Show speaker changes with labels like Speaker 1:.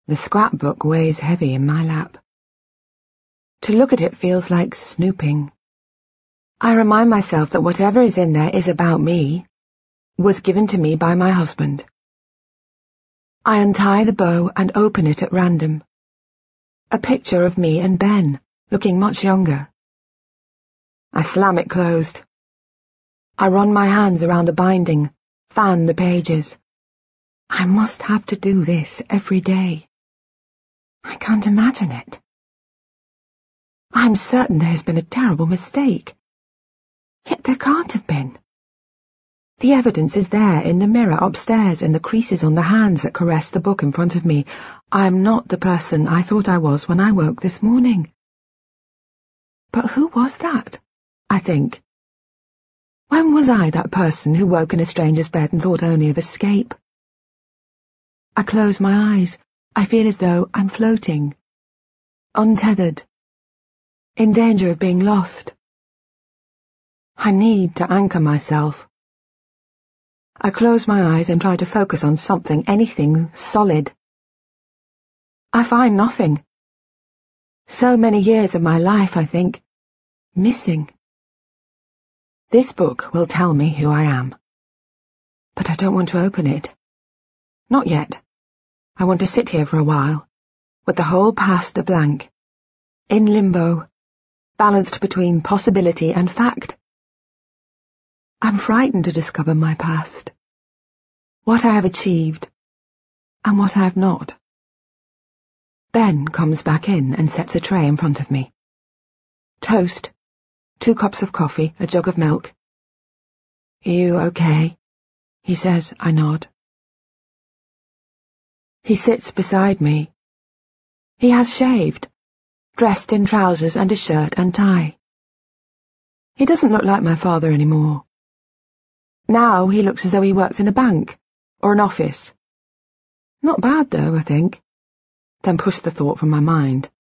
Speaker 1: The scrapbook weighs heavy in my lap. To look at it feels like snooping. I remind myself that whatever is in there is about me, was given to me by my husband. I untie the bow and open it at random. A picture of me and Ben, looking much younger. I slam it closed. I run my hands around the binding, fan the pages. I must have to do this every day. I can't imagine it. I'm certain there has been a terrible mistake. Yet there can't have been. The evidence is there in the mirror upstairs and the creases on the hands that caress the book in front of me. I am not the person I thought I was when I woke this morning. But who was that, I think? When was I that person who woke in a stranger's bed and thought only of escape? I close my eyes. I feel as though I'm floating, untethered, in danger of being lost. I need to anchor myself. I close my eyes and try to focus on something, anything solid. I find nothing. So many years of my life, I think, missing. This book will tell me who I am. But I don't want to open it. Not yet. I want to sit here for a while, with the whole past a blank, in limbo, balanced between possibility and fact. I'm frightened to discover my past, what I have achieved, and what I have not. Ben comes back in and sets a tray in front of me. Toast, 2 cups of coffee, a jug of milk. "You okay?" he says. I nod. He sits beside me. He has shaved, dressed in trousers and a shirt and tie. He doesn't look like my father anymore. Now he looks as though he works in a bank or an office. Not bad, though, I think. Then push the thought from my mind.